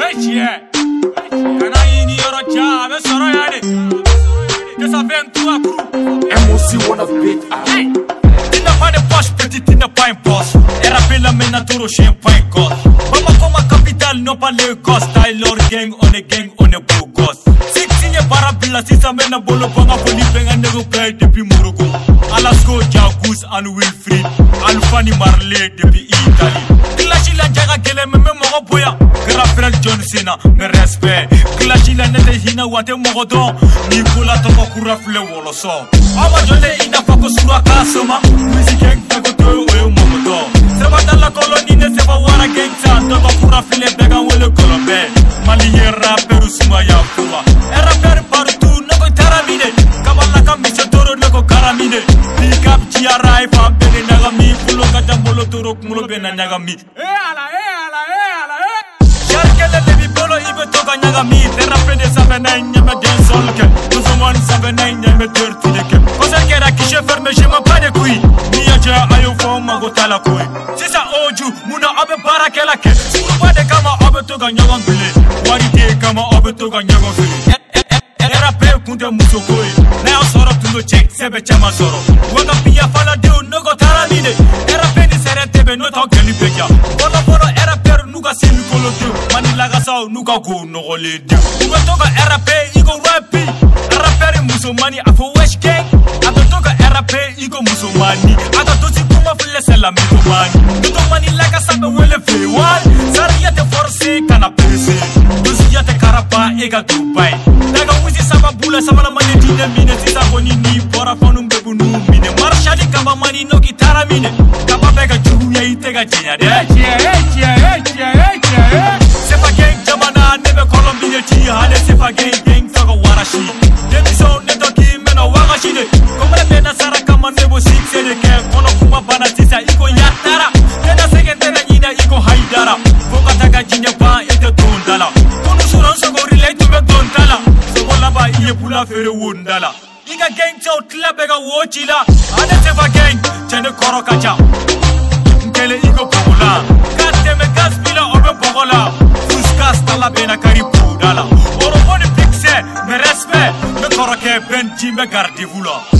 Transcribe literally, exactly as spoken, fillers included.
yeah. Kana yini yoro cha be soro yade. Desa vingt-trois crew. M O C wanna beat up. Tina pas de poche petit, tina pas un boss. Era bella mena toro chien pas un gosse. Mama comme capitale non pas le gosse. Taylor gang on est gang on est beau gosse. Six signé parabila si ça mena bolo banga poli benga nego play depuis Morocco. Alasko Jacuz and Wilfried. Alfani Marley depuis Italie. Clash la jaga kele me me mogo boya. Grafrel John Cena me respect. Clash la nete hina wate mogo don. Nicola toko kurafle wolo so. Ama jole ina fako sura kasoma. Music gang tako to oyo mogo do. Seba dalla koloni ne seba wara gang ta. Toko kurafle bega wole kolombe. Mali ye rapper usuma ya kuwa. E rapper partout noko taramine. Kabala kamisho toro noko karamine. Pick up Chiara e fa bene nagami. Pulo kajambolo toro kumulo bena nagami. Eh ala eh ala eh ala eh. Sharkele lebi bolo ibe toka nagami. Te rapper de savena nyame den solke. Tuzomon savena nyame dirty deke. Kosa kera kishe ferme je ma pas de couilles. Niaja ayo fo mago tala koi. Sisa oju muna abe barakela ke. Suruba de kama abe toka nyagam bile. Warite kama abe toka nyagam fili. Era pe kunde musokoi. Na yo soro tundo check sebe chama soro. Waga pia fala de nogo taramine. Era pe ni serete be no talk geli beja. Bono bono era per nuga simi kolo de. Mani laga sao nuga go no gole de. Uga toka era pe igo rapi. Era per musomani afo wesh gang. Ato toka era pe igo musomani. Ato tosi kuma fle sela mi komani. Tuto mani laga sabe wele fe wal. Saria te force kana pese. Dosi ya te karapa ega Dubai. Daga wizi saba bula saba la mani dine mine. Sisa koni ni bora fonu mbebu nu mine. Marshali kaba mani no gitara mine. Kaba bega juhu ya itega jenya de. Sefa gang jamana nebe Colombine ti hale sefa gang gang saga warashi. Demi so neto ki meno wagashi de. Komre bena sara kama nebo six de ke. Kono kuma bana sisa iko yatara. Tena sekendera nina iko haidara. Foka taga jinya pa ete tondala. Kono suran sogo relate to me tondala. Sogo laba iye pula fere wondala. Iga gang chow tlabega wochila. Ane sefa gang chene koro kacha. Nkele iko pogola. Kate me gaspila obe pogola. Fuskas tala bena karibu dala. Oro boni pixe me respect. Me koro ke ben jimbe gardi vula.